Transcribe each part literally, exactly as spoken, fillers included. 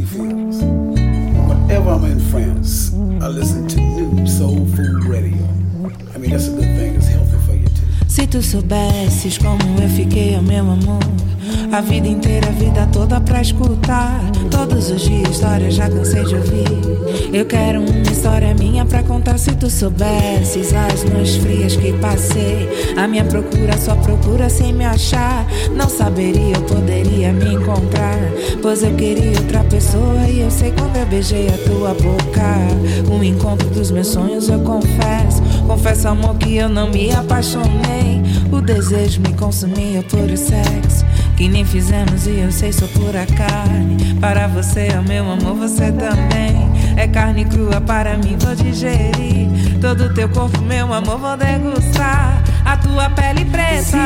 he feels. Whenever I'm in France, I listen to New Soul Food Radio. I mean, that's a good thing. It's healthy for you too. Se tu soubesses como eu fiquei, meu amor, a vida inteira, a vida toda pra escutar. Todos os dias histórias já cansei de ouvir. Eu quero uma história minha pra contar. Se tu soubesses as noites frias que passei, a minha procura, a sua procura sem me achar. Não saberia, eu poderia me encontrar, pois eu queria outra pessoa. E eu sei quando eu beijei a tua boca, o encontro dos meus sonhos, eu confesso. Confesso, amor, que eu não me apaixonei. O desejo me consumia por o sexo que nem fizemos, e eu sei só por a carne. Para você, oh meu amor, você também é carne crua para mim, vou digerir todo teu corpo, meu amor, vou degustar a tua pele preta. Se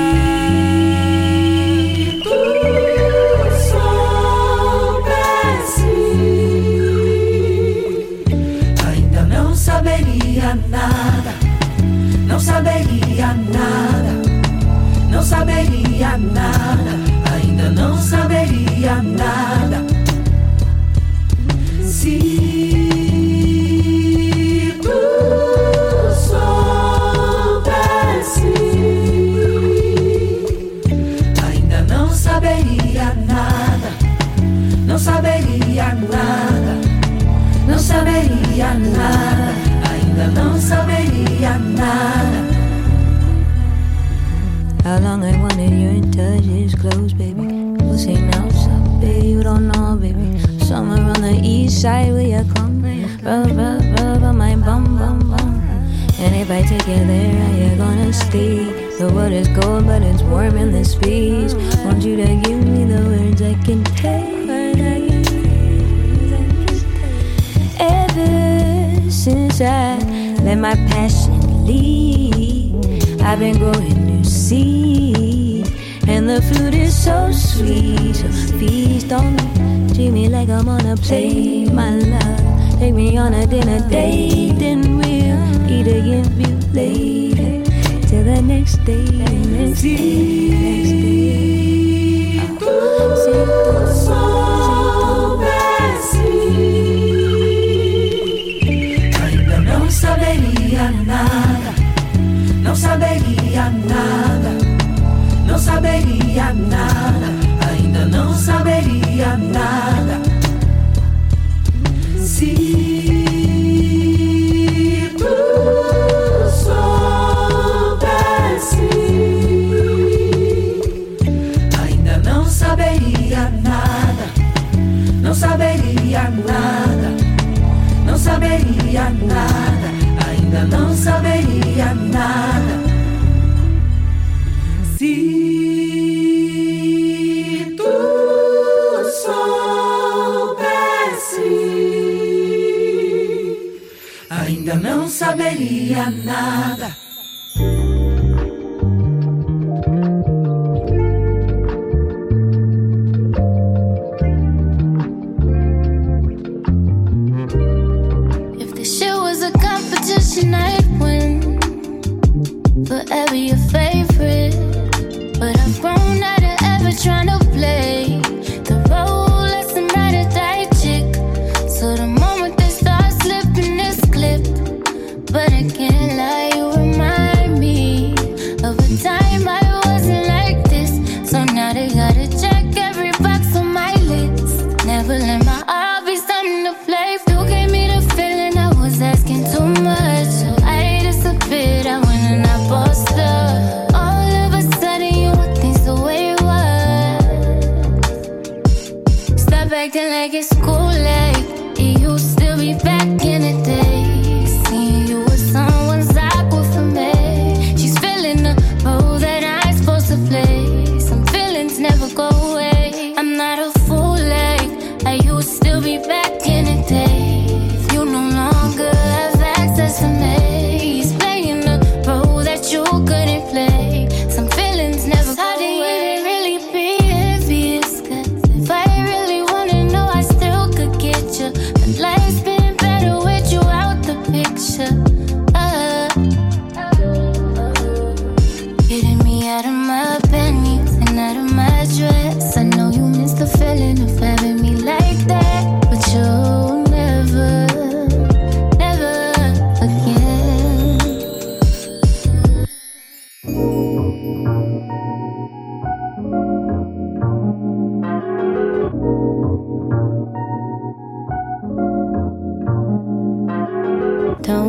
tu soubesse, ainda não saberia nada, não saberia nada, não saberia nada, ainda não saberia nada. Se tu soubesse, ainda não saberia nada, não saberia nada, não saberia nada, ainda não saberia nada. How long I wanted your touch is close, baby. We'll say now, stop, baby, you don't know, baby. Somewhere on the east side where you come, rub, rub, rub on my bum, bum, bum. And if I take you there, are you gonna stay? The water's cold, but it's warm in the space. Want you to give me the words I can take. Ever since I let my passion lead, I've been growing new seeds, and the fruit is so sweet. So feast on me, treat me like I'm on a plate, my love. Take me on a dinner date, then we'll eat again, be later till the next day. Next day, next day. Se tu soubesse, ainda não saberia nada, não saberia nada, não saberia nada, ainda não saberia nada. Se tu soubesse, ainda não saberia nada, não saberia nada, não saberia nada, ainda não saberia nada. Se tu soubesse, ainda não saberia nada. If the shit was a competition, I'd win. Forever your favorite. But I've grown out of ever trying to play the role as some ride or die chick. So the moment they start slipping this clip, but I can't lie, you remind me of a time I wasn't like this. So now they gotta check every box on my list. Never let my heart be something to play. You gave me the feeling I was asking too much, so I disappeared. I went and I bossed up. Acting like it's cool, like it used to be back in the day. Seeing you with someone's awkward for me. She's filling the role that I'm supposed to play. Some feelings never go away. I'm not a fool, like I used to be back in the day. If you no longer have access to me, he's playing the role that you couldn't play. Some feelings never go away. Life's been better with you out the picture. Uh, getting me out of my panties and out of my dress. I know you miss the feeling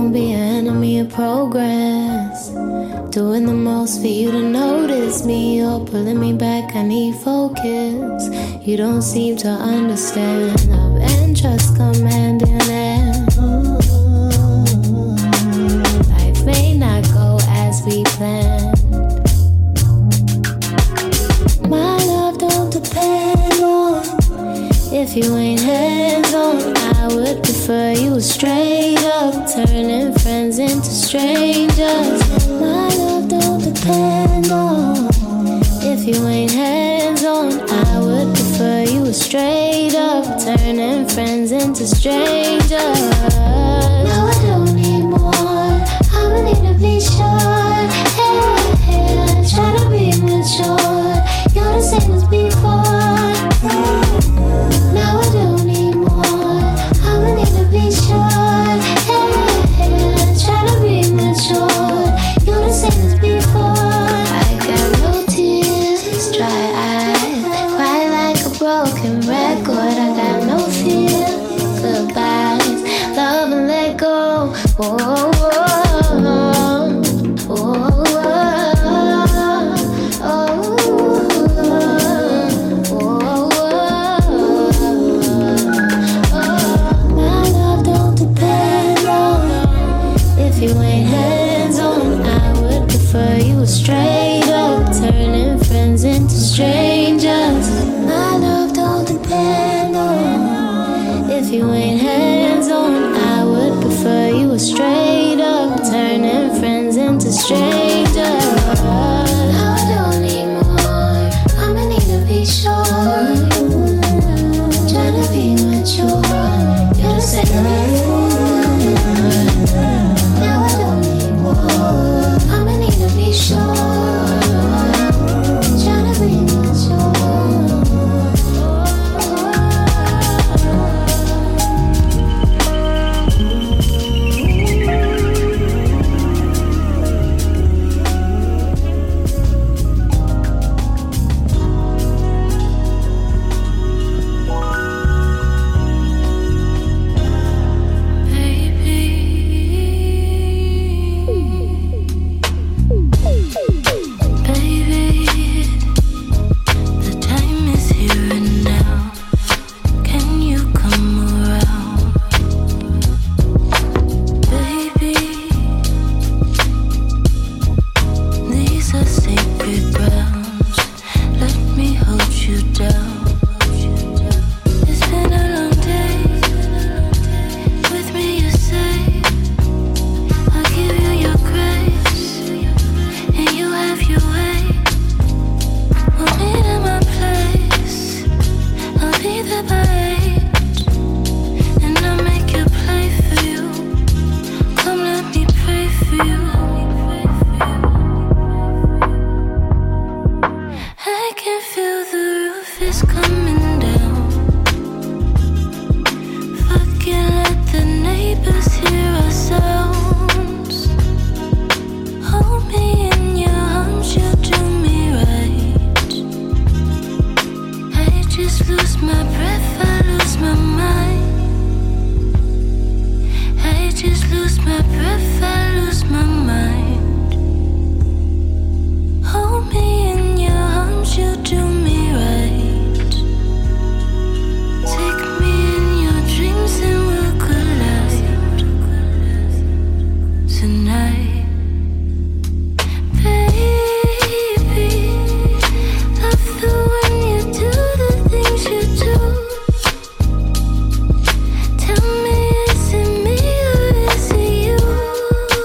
won't be an enemy of progress. Doing the most for you to notice me. You're pulling me back, I need focus. You don't seem to understand. Love and trust come hand in hand. Life may not go as we planned. My love don't depend on if you ain't hands-on. I would prefer you was straight up, turning friends into strangers. My love don't depend on if you ain't hands-on. I would prefer you was straight up, turning friends into strangers. Now I don't need more, I'ma need to be sure. Hey, hey, try to be mature. You're the same as before. Now I don't need more, I'ma need to be sure. Hey, hey, try to be mature. You're the same as before. I got no tears, dry eyes, cry like a broken record. I got no fear, goodbyes, love and let go. Oh, oh, oh, oh, oh, oh, oh, oh. My love don't depend on if you ain't hands-on. I would prefer you was straight up, turning friends into strangers. My love don't depend on if you ain't hands-on. I would prefer you was straight up, turning friends into strangers. Now I don't need more, I'ma need to be sure. Try to be mature, you're the same before. Now I don't need more, I'ma need to be sure. Try to be mature. Tell me, is it me or is it you?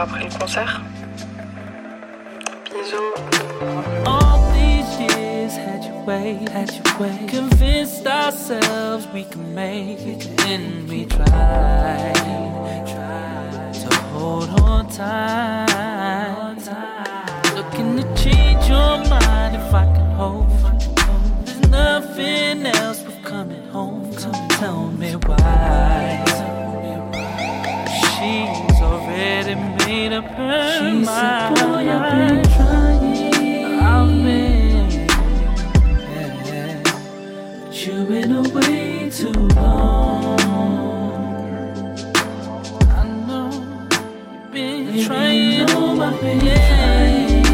après le concert. Bisous. All these years had you wait, had you wait. Convinced ourselves we can make it, and we tried, tried to hold on tight. Looking to change your mind if I can hold. There's nothing else but coming home. So tell me why. She's already made up her she mind. Said, boy, I've been trying. I've been, yeah, but you've been away too long. I know you've been Baby, trying. You know I've been yeah. trying.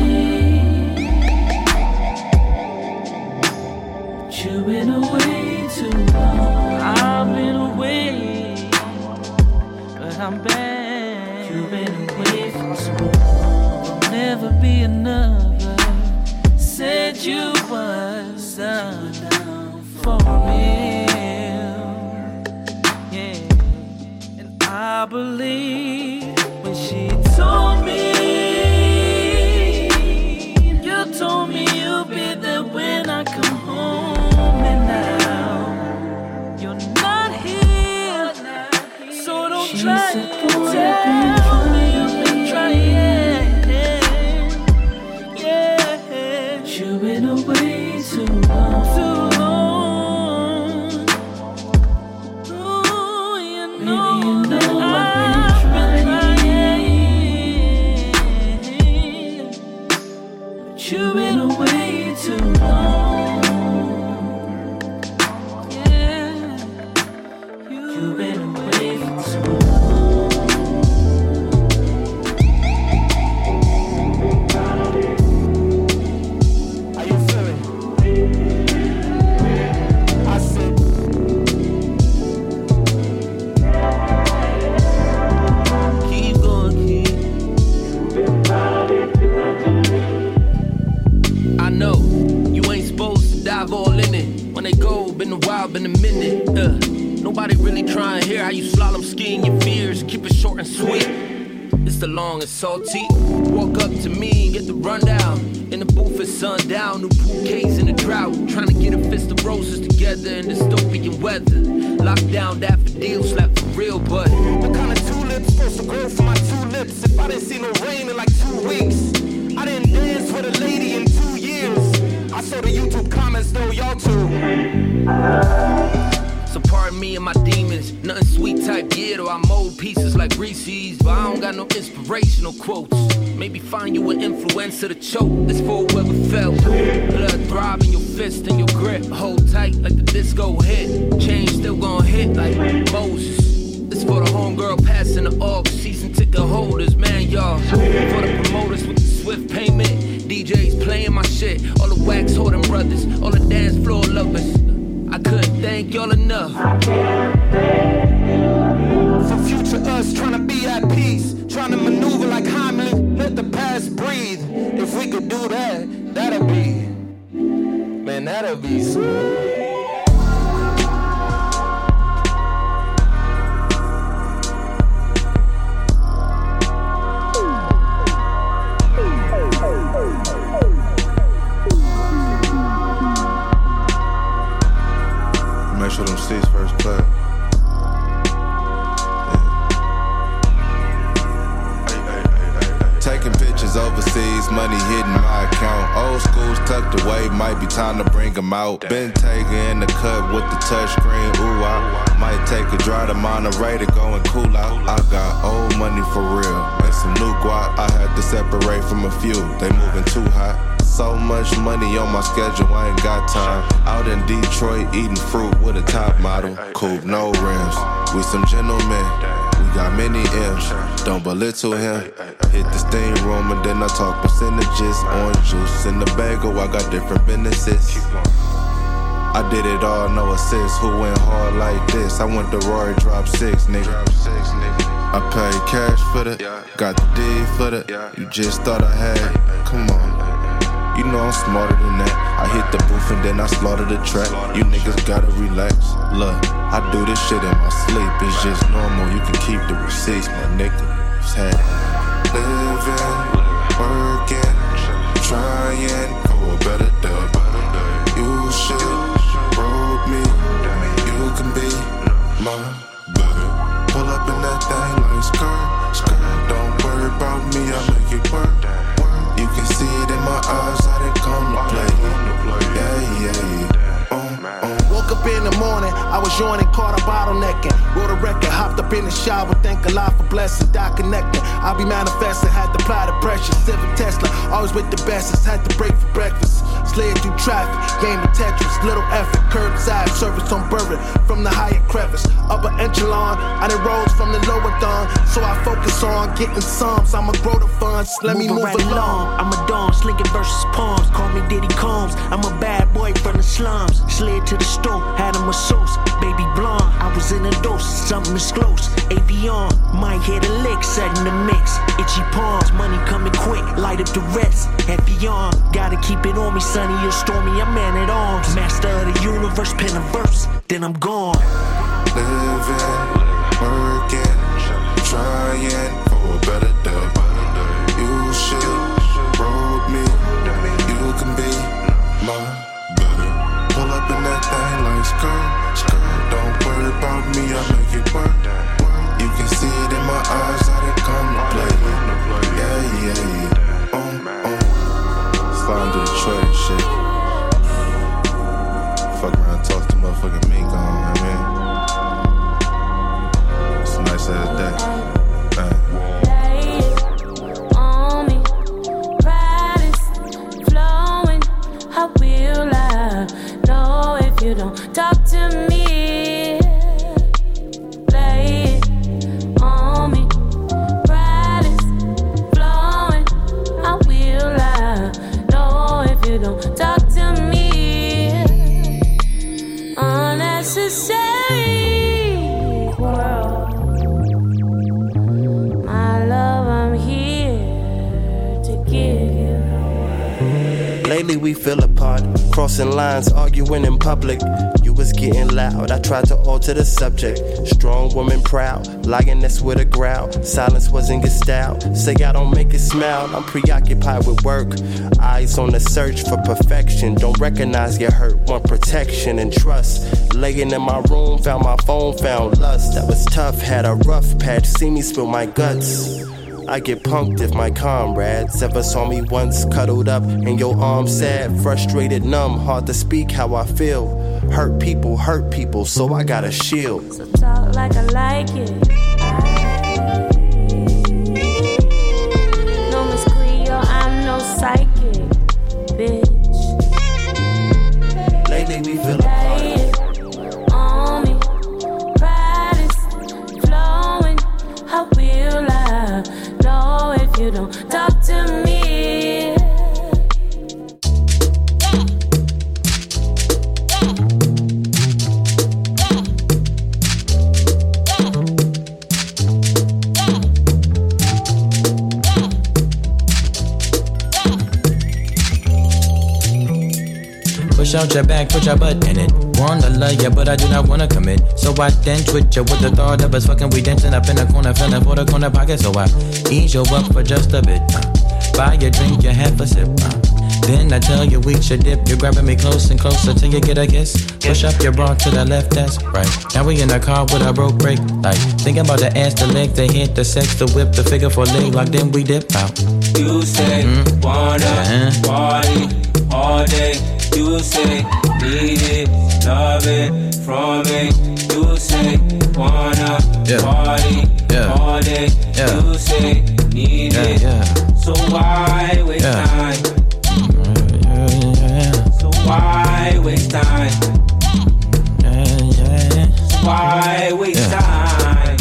But you've been away too long. I've been away, but I'm back. You've been away for so long. There'll never be another. Said you was down for real. Yeah, and I believe when she told me, you told me you'll be there when I come home. And now you're not here, so don't she try to tell. You've been away too long, too long. Ooh, you know, Baby, you know I've been trying, but you've been away too long. Yeah, you've been away for too long. Been a while, been a minute. Uh, nobody really trying to hear how you slalom skiing your fears. Keep it short and sweet. It's the long and salty. Walk up to me and get the rundown. In the booth at sundown, new bouquets in the drought. Trying to get a fist of roses together in dystopian weather. Lockdown daffodils, slap for real, but what kind of tulips supposed to grow from my tulips? If I didn't see no rain in like two weeks, I didn't dance with a lady in two years. I saw the YouTube comments though, y'all too. So pardon me and my demons. Nothing sweet type yet, or I mold pieces like Reese's. But I don't got no inspirational quotes. Maybe find you an influencer to choke. This for whoever felt. Blood throb in your fist and your grip. Hold tight like the disco hit. Change still gon' hit like Moses. This for the homegirl passing the aux. Season ticket holders, man, y'all. For the promoters with the swift payment. D Js playing my shit. All the wax holding brothers. All the dance floor lovers. I couldn't thank y'all enough. For future us trying to be at peace. Trying to maneuver like Heimlich. Let the past breathe. If we could do that, that'll be, man, that'll be sweet. Make sure them seats first class. Yeah. Taking pictures overseas, money hitting my account. Old school's tucked away, might be time to bring them out. Been taking in the cut with the touch screen, ooh, I might take a drive to Monterey to go and cool out. I got old money for real, and some new guap. I had to separate from a few, they moving too hot. So much money on my schedule, I ain't got time. Out in Detroit, eating fruit with a top model. Coupe, no rims, we some gentlemen. We got many M's, don't belittle him. Hit the steam room and then I talk percentages. Orange juice in the bagel, I got different businesses. I did it all, no assist. Who went hard like this? I went to Rory, drop six, nigga. I paid cash for the, got the D for the. You just thought I had, come on. You know I'm smarter than that. I hit the booth and then I slaughter the track. You niggas gotta relax. Look, I do this shit in my sleep. It's just normal, you can keep the receipts, my nigga. It's had it. living, working, trying for a better day. You should roll me, you can be my buddy. Pull up in that thing like skirt, skirt. Don't worry about me, I make it work. You can see it in my eyes, I didn't come to play. Yeah, yeah, yeah. Um, um. Woke up in the morning, I was yawning, caught a bottlenecking. Wrote a record, hopped up in the shower, thank Allah for blessings, die connecting. I be manifesting, had to apply the pressure. Civic Tesla, always with the bestest, had to break for breakfast. Slid through traffic, game of Tetris, little effort, curbside service on Burritt from the Hyatt crevice. Upper echelon, I done rose from the lower dawn, so I focus on getting sums. I'ma grow the funds, let Moving me move right along. I'm a dawn, slinging versus palms, call me Diddy Combs. I'm a bad boy from the slums, slid to the store, had him a sauce, baby blonde. I was in a dose, something is close. Avion, might hit a lick, setting the mix. Itchy palms, money coming quick, light up the rest. Heavy on, gotta keep it on me, sunny or stormy, I'm man at arms. Master of the universe, pen a verse, then I'm gone. Living, working, trying for a better day. You should roll me, you can be my buddy. Pull up in that thing like skirt, skirt. Don't worry about me, I make it work. You can see it in my eyes, I didn't come to play. Yeah, yeah, yeah. Um, um. Slide to Detroit and shit. Fuck around, talk to motherfucking Mink on, I mean. It's a nice ass day. On me, pride is flowing. How will I know if you don't talk to me? Play it on me, pride is flowing. How will I know if you don't talk to me? Unnecessary world. My love, I'm here to give you. Lately we fell apart, crossing lines, arguing in public. You was getting loud, I tried to alter the subject. Strong woman proud, lioness with a growl. Silence wasn't your style, say I don't make it smile. I'm preoccupied with work, eyes on the search for perfection. Don't recognize your hurt, want protection and trust. Laying in my room, found my phone, found lust. That was tough, had a rough patch, see me spill my guts. I get punked if my comrades ever saw me once cuddled up in your arms, sad, frustrated, numb, hard to speak how I feel. Hurt people, hurt people, so I got a shield. So talk like I like it. No Miss Cleo, I'm no psychic, bitch. Lately we feel apart. On me, pride is flowing. How will I know if you don't talk to me? Push out your back, put your butt in it. Wanna love ya, but I do not wanna commit. So I then twitch ya with the thought of us fucking. We dancing up in the corner, feeling for the corner pocket. So I ease you up for just a bit. Uh. Buy your drink, you have a sip. Uh. Then I tell you we should dip. You're grabbing me close and closer till you get a kiss. Push up your bra to the left, that's right. Now we in the car with a broke brake light. Thinking about the ass, the leg, the hit, the sex, the whip, the figure for leg lock. Then we dip out. You say mm-hmm. wanna uh-huh. party all day. You say need it, love it from me. You say wanna yeah. party yeah. all day. Yeah. You say need yeah, it. Yeah. So why waste yeah. time? Yeah, yeah. So why waste time? Yeah, yeah. So why waste yeah. time?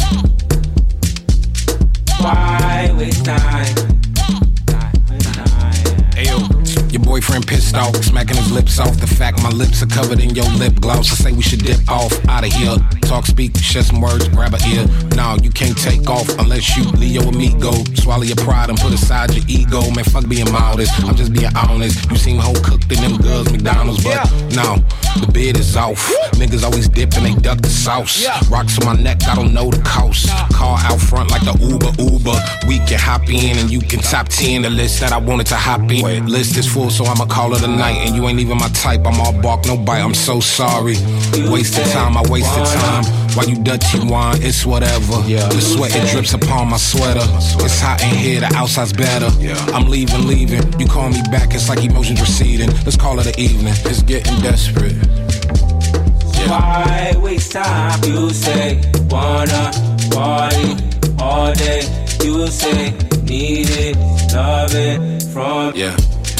Why waste time? Ayo, your boy boyfriend pissed off, smacking his lips off. The fact my lips are covered in your lip gloss. I say we should dip off, out of here. Talk, speak, share some words, grab a ear. Nah, you can't take off unless you Leo or me go. Swallow your pride and put aside your ego. Man, fuck being modest, I'm just being honest. You seem whole cooked in them girls McDonald's, but no, the bid is off. Niggas always dip and they duck the sauce. Rocks on my neck, I don't know the cost. Car out front like the Uber Uber. We can hop in and you can top ten the list that I wanted to hop in. List is full, so I'ma call it a night. And you ain't even my type, I'm all bark, no bite. I'm so sorry. Wasted time, I wasted time. While you dirty wine, it's whatever. The sweat, it drips upon my sweater. It's hot in here, the outside's better. I'm leaving, leaving. You call me back, it's like emotions receding. Let's call it an evening, it's getting desperate. Why waste time? You say wanna party all day. You say need it, love it from yeah.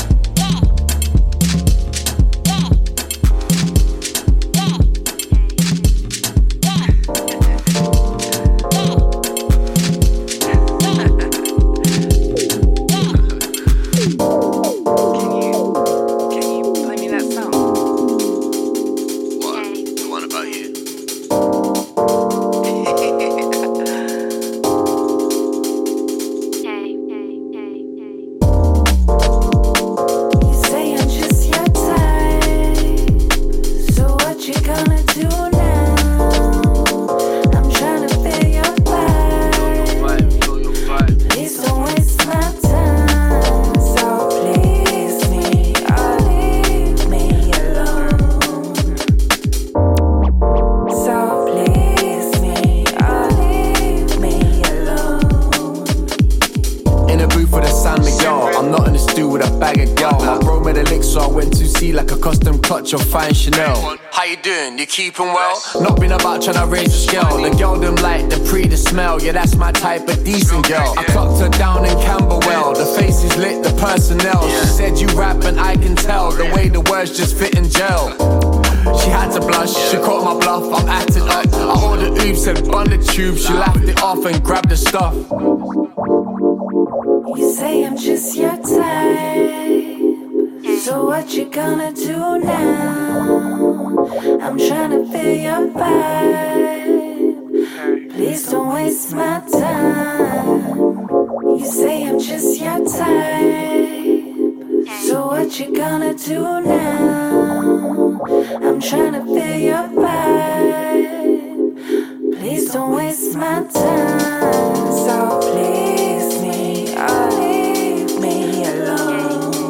Your fine Chanel. How you doing? You keeping well? Not been about trying to raise the scale. The girl them like the pre, the smell. Yeah, that's my type of decent girl. I clocked her down in Camberwell. The face is lit, the personnel. She said you rap and I can tell the way the words just fit in gel. She had to blush, she caught my bluff. I'm acting up. I ordered oops, said bun the tube. She laughed it off and grabbed the stuff. You say I'm just your type. So what you gonna do now? I'm tryna feel your vibe. Please don't waste my time. You say I'm just your type. So what you gonna do now? I'm tryna feel your vibe. Please don't waste my time. So please me, or leave me alone.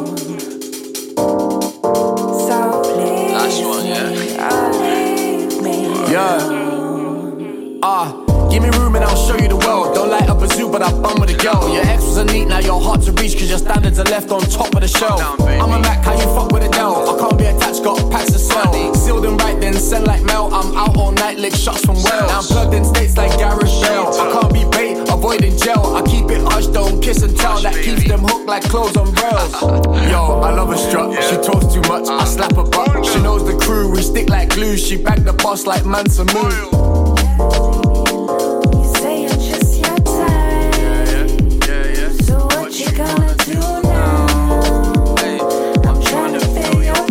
Yeah. Ah, uh, give me room and I'll show you the world. Don't light up a zoo, but I bum with a girl. Your ex was a neat, now you're hard to reach, cause your standards are left on top of the shelf. I'm a Mac, how you fuck with a Dell? I can't be attached, got packs to sell. Sealed and right then, send like mail. I'm out all night, lick shots from Wales. Now I'm plugged in states like Gareth Bale. I can't be bait, avoiding jail. I keep it hush, don't kiss and tell. That keeps them hooked like clothes on rails. Yo, I love her strut, she talks too much, I slap her butt. She knows the crew, we stick like glue. She bagged the boss like Mansa Moon. You say I'm just your type. Yeah, yeah, yeah, yeah. So what you gonna do now? Hey, I'm trying to feel your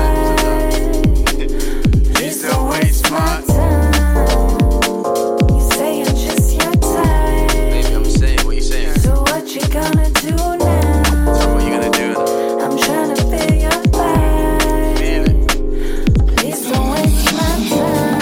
vibe. Please don't waste my time. You say I'm just your type. Baby, I'm saying, what you saying? So what you gonna do now? So what you gonna do? I'm trying to feel your vibe. Feel it. Please don't waste my time.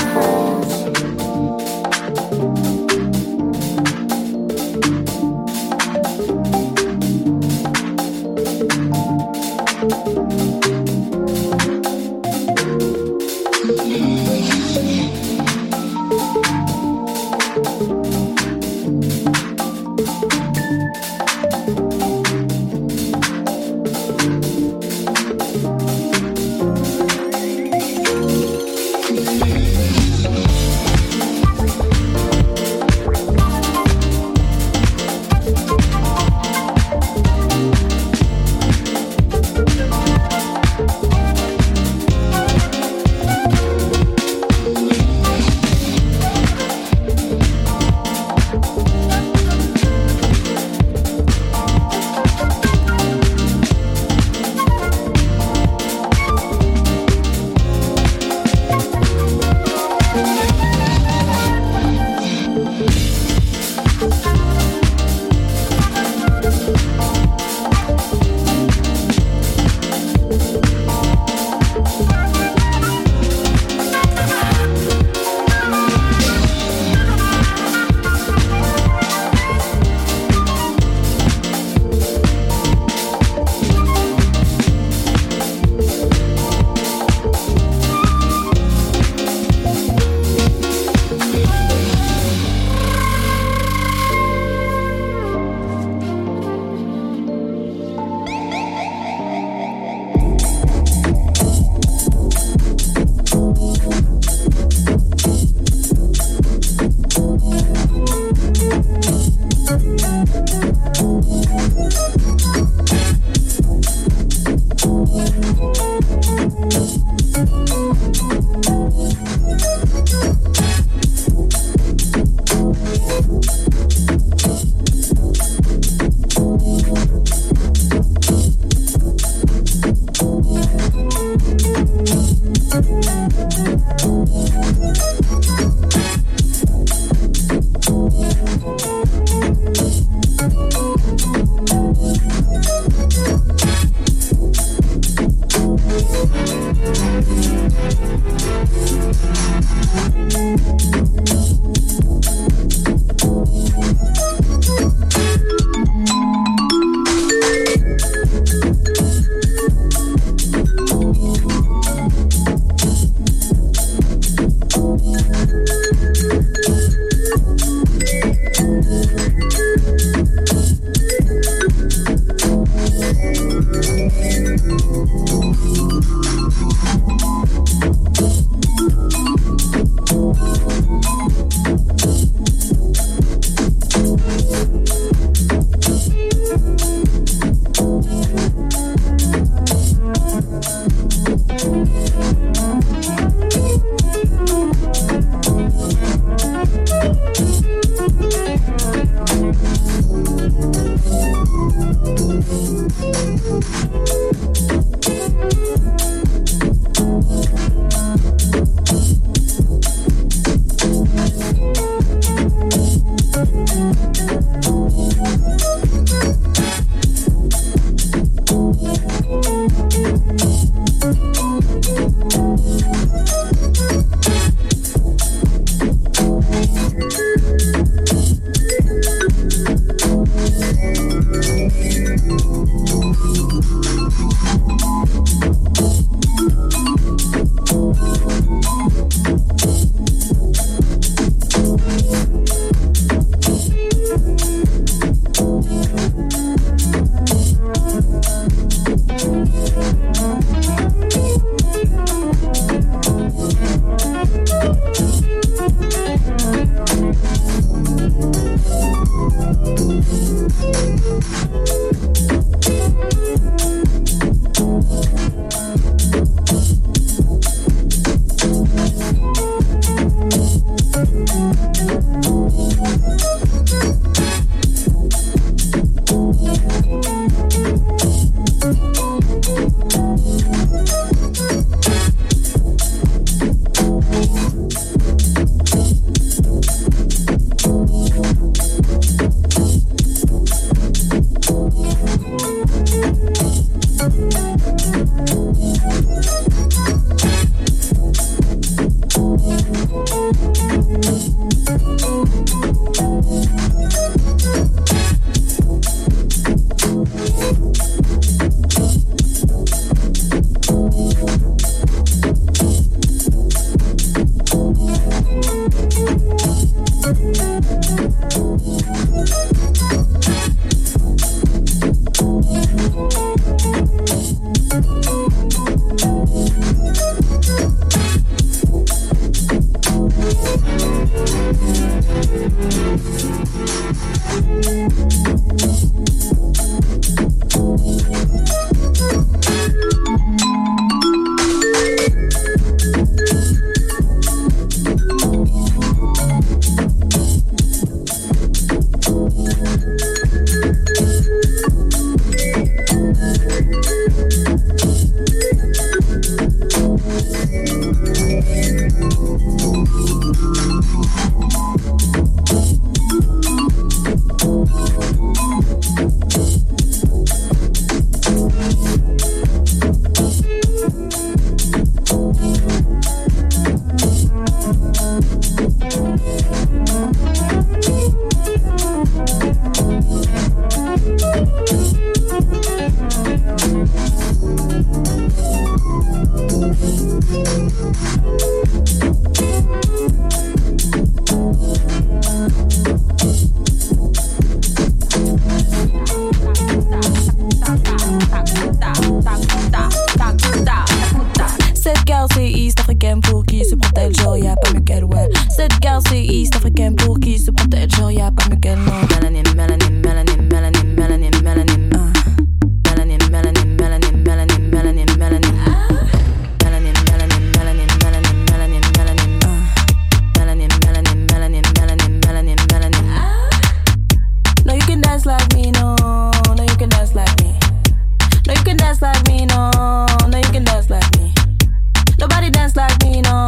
dance like me, no.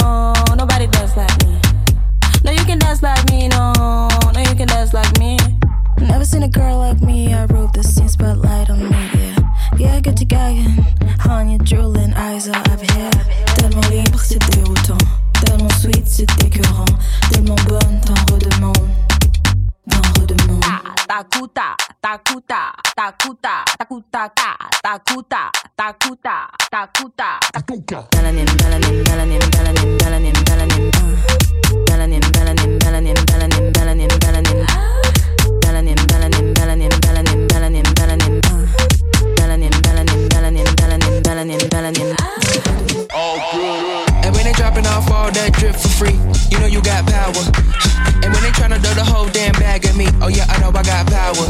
Drooling eyes are up here. Tellement libre, c'est déroutant. Tellement sweet, c'est écœurant. Tellement bonne, t'en redemande. T'en redemande. Takuta, takuta, takuta, takuta, takuta, takuta, takuta, takuta. Melanin, melanin, melanin, melanin, melanin, melanin. Melanin, melanin, melanin, melanin, melanin, melanin. Melanin, melanin, melanin, melanin, melanin, melanin. Melanin, melanin, melanin, melanin, melanin, melanin. All good. And when they dropping off all that drip for free, you know you got power. And when they tryna throw the whole damn bag at me, oh yeah, I know I got power.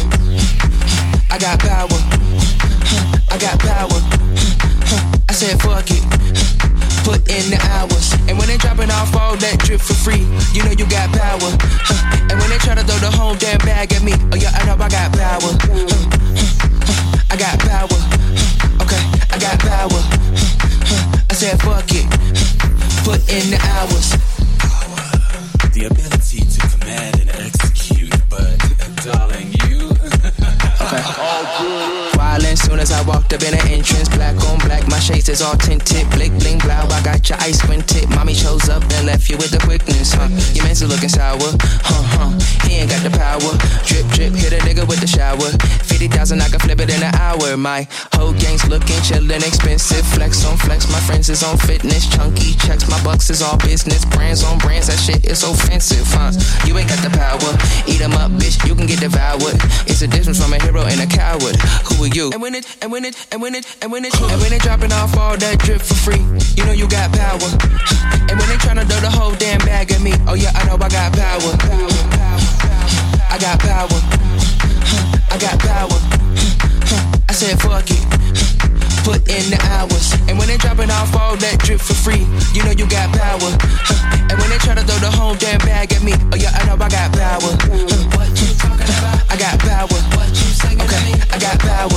I got power. I got power. I said fuck it. Put in the hours. And when they dropping off all that drip for free, you know you got power. And when they tryna throw the whole damn bag at me, oh yeah, I know I got power. I got power. Okay, I got power. I said fuck it. Put in the hours. The ability to command and execute, but darling, you. Okay. All good. Violent soon as I walked up in the entrance, black on black, my shades is all tinted, blick bling blow. I got your ice squinted. Mommy chose up and left you with the quickness, huh? Your man's looking sour, huh huh. He ain't got the power. Drip drip, hit a nigga with the shower. Fifty thousand, I can flip it in an hour. My whole gang's looking chillin', expensive. Flex on flex, my friends is on fitness. Chunky checks, my bucks is all business. Brands on brands, that shit is offensive, huh? You ain't got the power. Eat 'em up, bitch, you can get devoured. It's a difference from a hero and a coward. Who are you? And when it, and when it, and when it, and when it, and when they dropping off all that drip for free, you know you got power. And when they tryna throw the whole damn bag at me, oh yeah, I know I got power. I got power. I got power. I said fuck it. Put in the hours. And when they dropping off all that drip for free, you know you got power. And when they tryna throw the whole damn bag at me, oh yeah, I know I got power. I got power. Okay, I got power.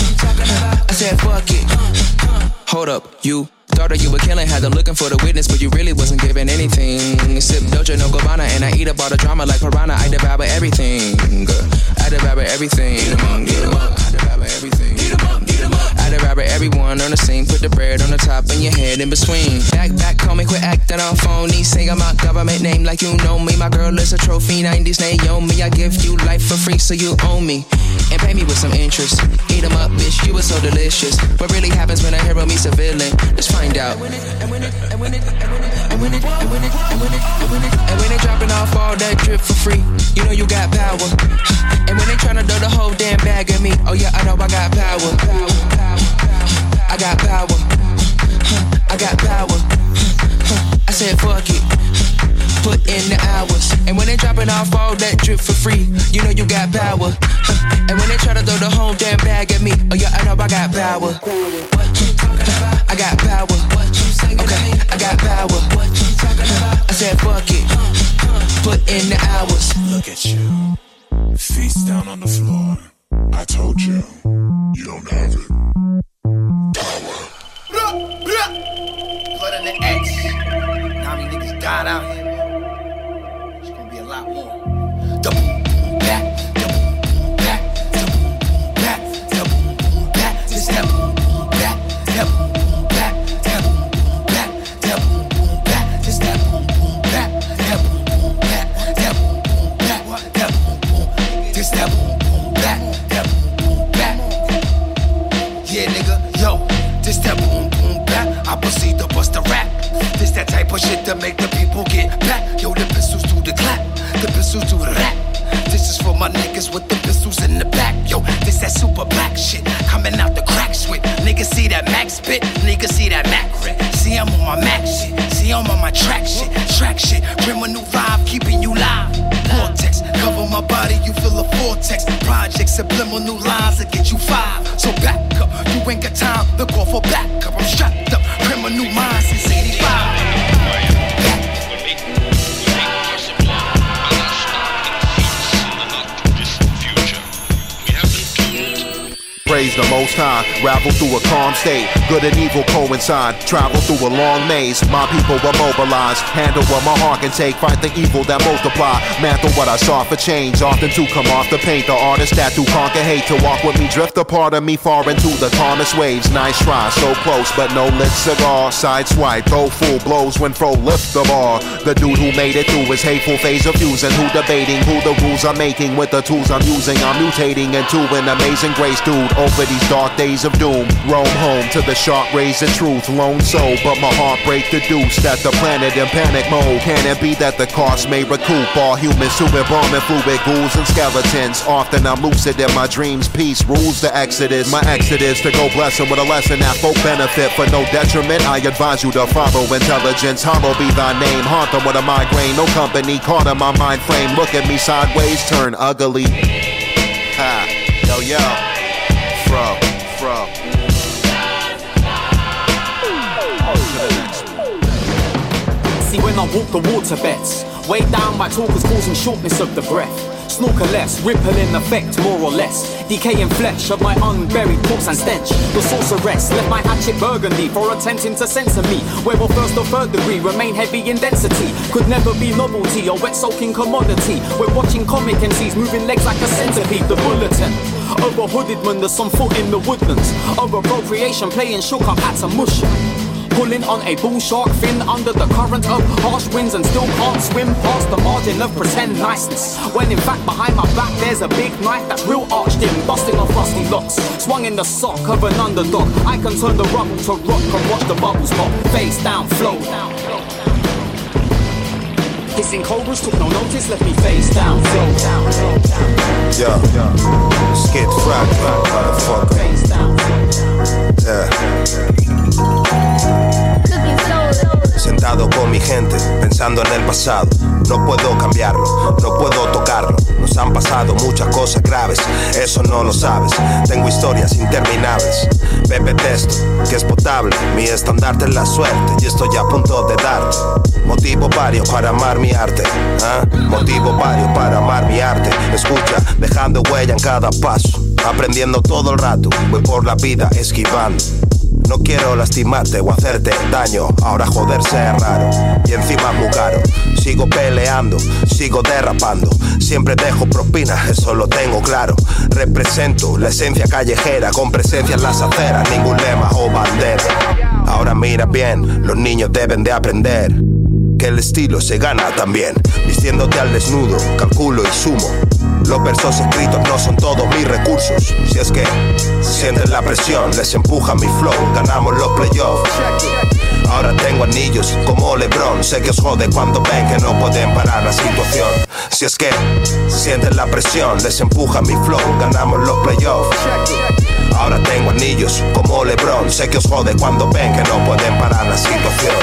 I said fuck it. Hold up, you thought that you were killing, had them looking for the witness, but you really wasn't giving anything. Sip Doja, no Gabbana, and I eat up all the drama like piranha. I devour everything. I devour everything. I devour everything. I devour everyone on the scene. Put the bread on the top and your head in between. Back, back, call me, quit acting on phony. Say I'm my government name like you know me. My girl is a trophy, nineties Naomi. I give you life for free, so you own me. And pay me with some interest. Eat 'em up, bitch, you were so delicious. What really happens when a hero meets a villain? Let's find out. And when it, and when it, and when it, and when it, and when it, and when it, and when it, and when it, and when they dropping off all that drip for free, you know you got power. And when they tryna throw the whole damn bag at me, oh yeah, I know I got power. I got power. I got power. I said fuck it. Put in the hours. And when they dropping off all that drip for free, you know you got power. And when they try to throw the whole damn bag at me, oh yeah, I know I got power. I got power. Okay, I got power. I said fuck it. Put in the hours. Look at you, face down on the floor. I told you, you don't have it. Power. Blood in the X. Now many niggas died out here. It's gonna be a lot more. The boom boom back, the boom boom back, the boom boom back, the boom boom back. This that boom boom back, that boom boom back, that boom boom back, that boom boom back. This that boom boom back, that boom boom back, that boom boom back, that boom boom. This that boom boom back, that boom boom back. Yeah, nigga, yo, this that boom boom back. I proceed to bust a rap. This that type of shit to make the people get back. Yo, the pistols do the clap, the pistols do the rap. This is for my niggas with the pistols in the back. Yo, this that super black shit coming out the crack switch. Niggas see that Mac spit, niggas see that Mac rip. See I'm on my Mac shit, see I'm on my track shit, track shit. Bring a new vibe, keeping you live. Vortex, cover my body, you feel a vortex. Projects, subliminal lines that get you five. So back up, you ain't got time to call for backup. I'm strapped up, criminal minds since eighty-five. Praise the most high. Ravel through a calm state, good and evil coincide. Travel through a long maze, my people were mobilized. Handle what my heart can take, fight the evil that multiply. Mantle what I saw for change, often to come off the paint. The artist that to conquer hate, to walk with me, drift a part of me far into the calmest waves. Nice try, so close, but no lit cigar. Side swipe, throw full blows when fro lift the bar. The dude who made it through his hateful phase of fusing, who debating who the rules I'm making with the tools I'm using. I'm mutating into an amazing grace, dude. Over these dark days of doom, roam home to the sharp rays of truth. Lone soul, but my heart break the deuce. That the planet in panic mode. Can it be that the cost may recoup all humans to embalming fluid ghouls and skeletons? Often I'm lucid in my dreams. Peace rules the exodus. My exodus to go blessing with a lesson that folk benefit for no detriment. I advise you to follow intelligence. Hollow be thy name. Haunt them with a migraine. No company caught in my mind frame. Look at me sideways, turn ugly. Ha, yo yo, fro, fro. See when I walk the waterbeds, weighed down by talkers causing shortness of the breath. Snorker less, ripple in effect, more or less. Decaying flesh of my unburied corpse and stench. The sorceress left my hatchet burgundy for attempting to censor me. Where will first or third degree remain heavy in density. Could never be novelty or wet soaking commodity. We're watching comic M Cs moving legs like a centipede. The bulletin of a hooded man, there's some foot in the woodlands. Of appropriation playing shook up at a mush. Pulling on a bull shark fin under the current of harsh winds and still can't swim past the margin of pretend niceness. When in fact behind my back there's a big knife that's real arched in, busting off rusty locks. Swung in the sock of an underdog. I can turn the rubble to rock and watch the bubbles pop. Face down, flow down. Hissing cobras took no notice, left me face down, flow down. Yo, skid frag, motherfucker. Face down. Yeah. Sentado con mi gente, pensando en el pasado. No puedo cambiarlo, no puedo tocarlo. Nos han pasado muchas cosas graves, eso no lo sabes. Tengo historias interminables. Bebe testo, que es potable. Mi estandarte es la suerte y estoy a punto de darte. Motivo varios para amar mi arte, ¿eh? Motivo varios para amar mi arte. Escucha, dejando huella en cada paso. Aprendiendo todo el rato, voy por la vida esquivando. No quiero lastimarte o hacerte daño. Ahora joderse es raro y encima muy caro. Sigo peleando, sigo derrapando. Siempre dejo propina, eso lo tengo claro. Represento la esencia callejera con presencia en las aceras. Ningún lema o bandera. Ahora mira bien, los niños deben de aprender que el estilo se gana también. Vistiéndote al desnudo, calculo y sumo. Los versos escritos no son todos mis recursos. Si es que sienten la presión, les empuja mi flow. Ganamos los playoffs. Ahora tengo anillos como LeBron. Sé que os jode cuando ven que no pueden parar la situación. Si es que sienten la presión, les empuja mi flow. Ganamos los playoffs. Ahora tengo anillos como LeBron. Sé que os jode cuando ven que no pueden parar la situación.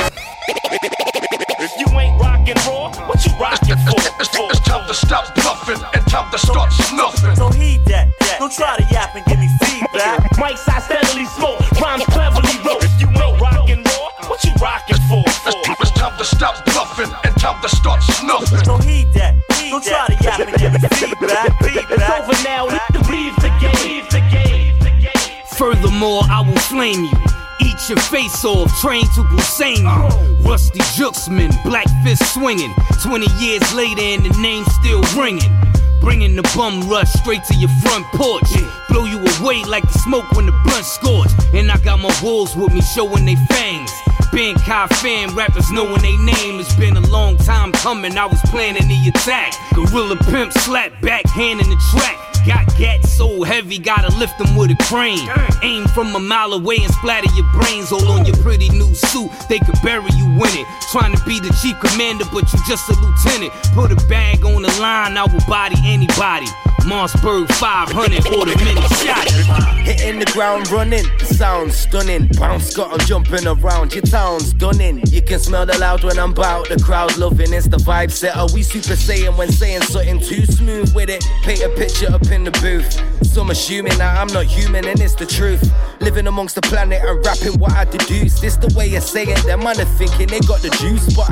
If you ain't rockin' raw, what you rockin' for? It's, it's, it's time to stop bluffing and time to start snuffing. So heed that, that. Don't try to yap and give me feedback. Mike's I steadily smoke, rhymes cleverly wrote. If you ain't rockin' raw, what you rockin' for? It's, it's time to stop bluffing and time to start snuffing. So heed that, heed don't try to yap and give me feedback. It's over now, leave the game, leave the game. Furthermore, I will flame you. Eat your face off, trained to Hussein you. Rusty Jooksman, black fist swinging. Twenty years later and the name still ringing. Bringing the bum rush straight to your front porch. Blow you away like the smoke when the blunt scorch. And I got my wolves with me showing they fangs. Being Kai fan, rappers knowing they name. It's been a long time coming, I was planning the attack. Gorilla pimp slap back, hand in the track. Got gats so heavy, gotta lift them with a crane. Aim from a mile away and splatter your brains all on your pretty new suit. They could bury you in it. Trying to be the chief commander, but you just a lieutenant. Put a bag on the line, I will body anybody. Mossberg five hundred, order many shots. Hitting the ground running, sound stunning. Bounce got 'em jumping around, your town's dunning. You can smell the loud when I'm bout, the crowd loving. It's the vibe setter, we super saiyan when saying something too smooth with it. Paint a picture up in the booth. Some assuming that I'm not human and it's the truth. Living amongst the planet and rapping what I deduce. This the way I say it, them man are thinking they got the juice, but I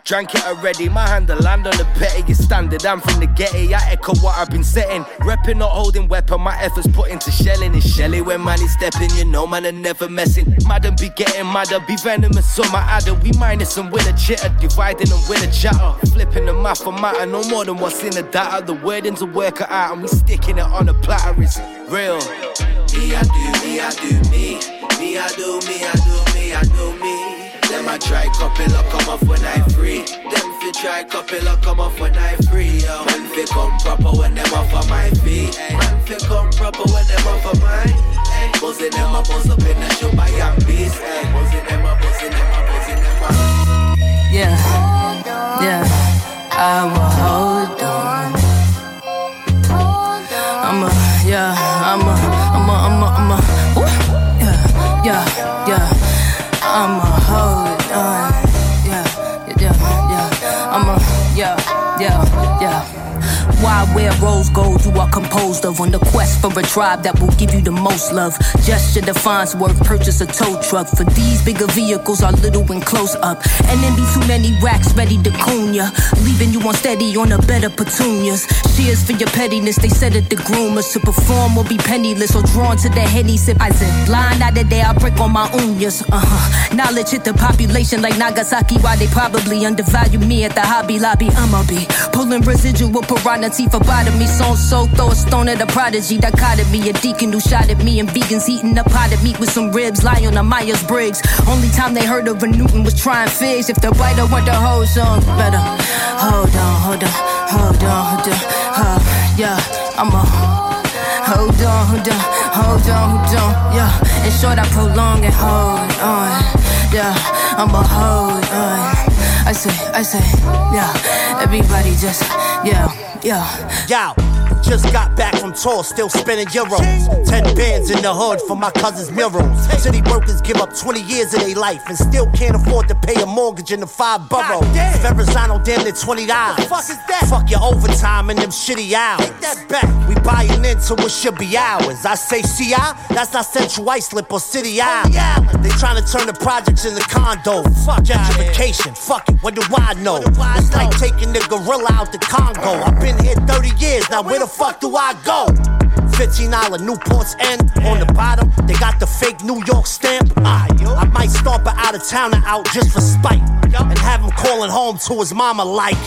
Drank it already, my hand to land on the petty. It's standard, I'm from the getty. I echo what I've been setting. Repping, not holding weapon, my efforts put into shelling. It's shelly when man is stepping, you know man are never messing. Madam be getting madder, be venomous on my adder. We minus and win a chitter, dividing and win a chatter. Flipping the math for matter, no more than what's in the data. The wording's a work it out and we sticking it on a platter. It's real. Me I do, me I do me. Me I do, me I do, me I do me. Them I try couple or come off when I free. Them fi try couple or come off when I free. Yo. Man fi come proper when them off of my feet. Man fi come proper when them off of mine. Buzzing them a buzz up in the show by young beast. Buzzing them a buzzing them a buzzing them a. Yeah, yeah, I will hold on. I'm a, yeah, I'm a, I'm a, I'm a, I'm a, ooh, yeah, yeah, yeah, I'm a hold on. Yeah, yeah, yeah, I'm a, yeah, yeah, yeah. Why wear rose gold you are composed of on the quest for a tribe that will give you the most love. Gesture defines worth, purchase a tow truck. For these bigger vehicles are little and close up. And then be too many racks ready to coon ya, leaving you unsteady on a bed of petunias. Cheers for your pettiness, they said it the groomers. To perform or be penniless or drawn to the henny sip. I said blind out the day I break on my uñas. Uh-huh. Knowledge hit the population like Nagasaki. Why they probably undervalue me at the Hobby Lobby. I'ma be pulling residual piranha for bottom me, so so throw a stone at a prodigy. Dichotomy, a deacon who shot at me, and vegans eating a pot of meat with some ribs. Lie on a Myers-Briggs. Only time they heard of a Newton was trying figs. If the writer want the whole song, better hold on, hold on, hold on, hold on, uh, yeah, I'm a hold on, hold on, hold on, hold on, yeah. In short, I prolong and hold on, yeah, I'm a hold on. I say, I say, yeah, everybody just, yeah. Yeah. Yo, just got back from tour, still spending euros. Ten bands in the hood for my cousin's murals. City workers give up twenty years of their life and still can't afford to pay a mortgage in the five boroughs. Verrazano damn near twenty dollars. Fuck is that? Fuck your overtime and them shitty hours. Take that back. We buying into what should be ours. I say C I, that's not Central Islip or City Island. They trying to turn the projects into condos. Fuck gentrification. Fuck it. What do I know? It's like taking the gorilla out the Congo. I've been here thirty years, now where the fuck do I go? fifteen dollar Newport's End. On the bottom, they got the fake New York stamp. I, I might stomp an out of towner out just for spite and have him calling home to his mama like.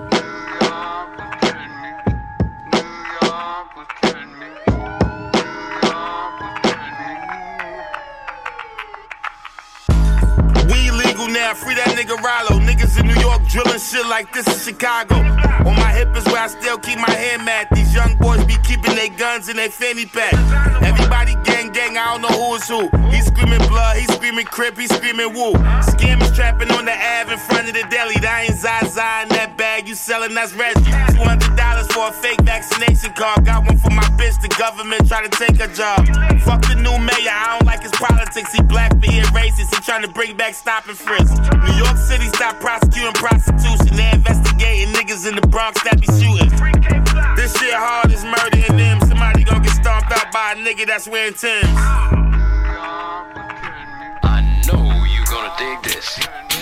Now free that nigga Rollo. Niggas in New York drilling shit like this in Chicago. On my hip is where I still keep my hand mat. These young boys be keeping their guns in their fanny pack. Everybody gang gang, I don't know who is who. He screaming blood, he screaming crip, he screaming woo. Scammers trapping on the Ave in front of the deli. That ain't Zaza in that bag you selling, that's Reggie. two hundred dollars for a fake vaccination card. Got one for my bitch, the government try to take her job. Fuck the new mayor, I don't like his politics. He black, being racist, he trying to bring back stop and frisk. New York City stop prosecuting prostitution. They investigating niggas in the Bronx that be shooting. This shit hard as murdering them. Somebody gon' get stomped out by a nigga that's wearing Timbs. I know you gonna dig this.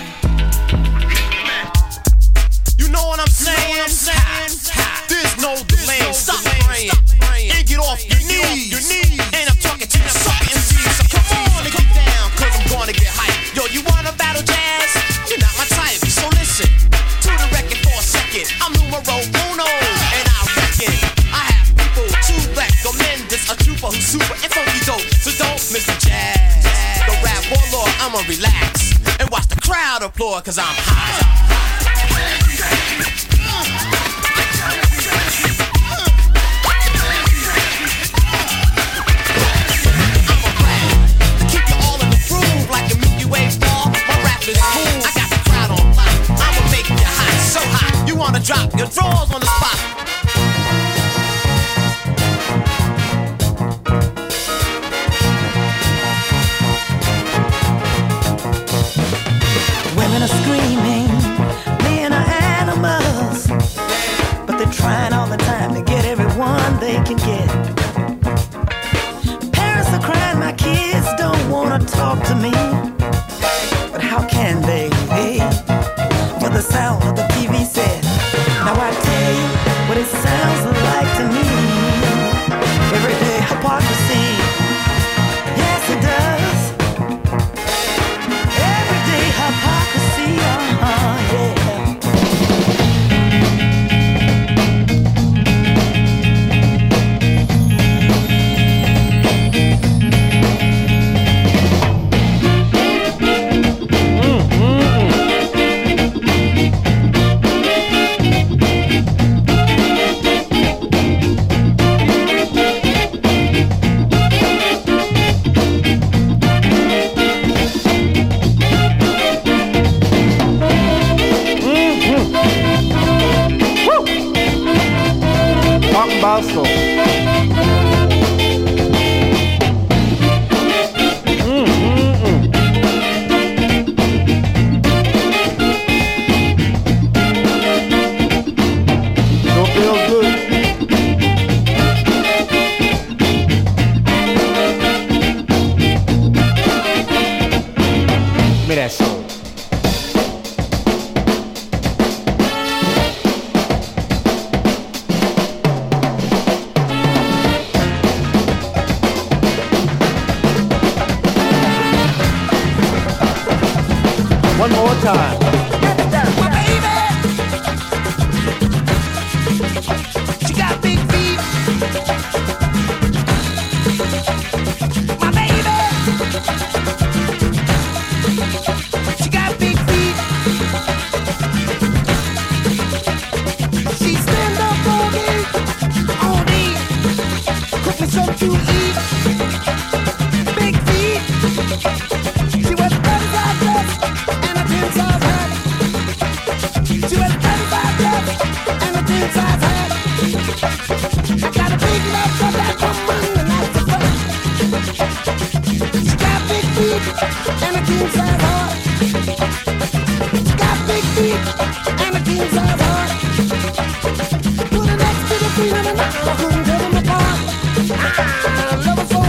You know what I'm saying? There's no delay. Stop praying and get off your knees. And I'm talking to you sucker M Cs. So come on and get down, cause I'm gonna get hyped. Yo, you wanna battle jazz? You're not my type, so listen to the record for a second. I'm numero uno, and I reckon I have people to recommend this. A trooper who's super and funky dope. So don't miss the jazz. The rap warlord, I'ma relax and watch the crowd applaud, cause I'm high. Wanna drop your drawers on the spot. Women are screaming, men are animals, but they're trying all the time to get everyone they can get. Parents are crying, my kids don't wanna talk to me, but how can they? For the sound me that song. One more time. My baby, she got big feet. My baby, she got big feet. She stand up all day, all day, cook me something to eat. Big feet. She was thirty-five dress and a ten-size hat. She was thirty-five dress and a ten-size hat. I got a big love for that woman, and that's a fact. She got big feet and a king-size heart. She got big feet and a king-size heart. Put her next to the queen of the night, I couldn't tell them apart. I love her so.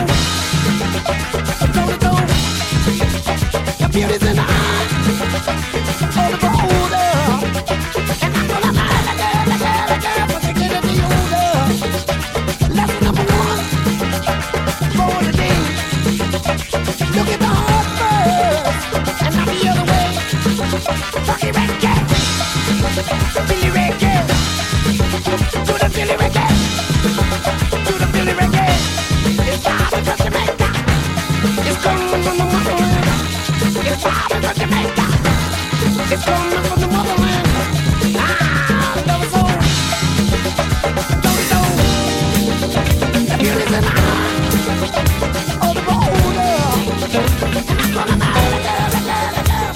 Beauty's in the eye, all the older. And I'm gonna lie, the girl, the girl, the girl, but they get to be older. Lesson number one, for the day. Look at the heart first, and not the other way. Rocky reggae, Billy reggae, to the Billy reggae, to the Billy reggae. It's time for Jamaica, it's coming from the motherland. It's coming from Jamaica. It's coming from the motherland. Ah, love is old. Love is old. The beauty's in the eye. Oh, the older. And I'm gonna marry the girl, the girl, the girl.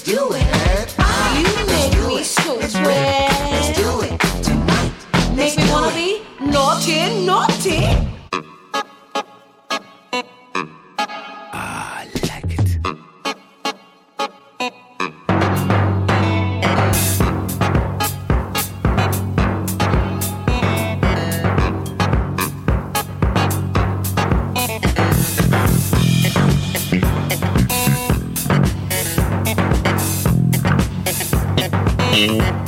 do it. You make me so sweat. Let's do it tonight. Make me wanna be naughty, naughty. Yeah.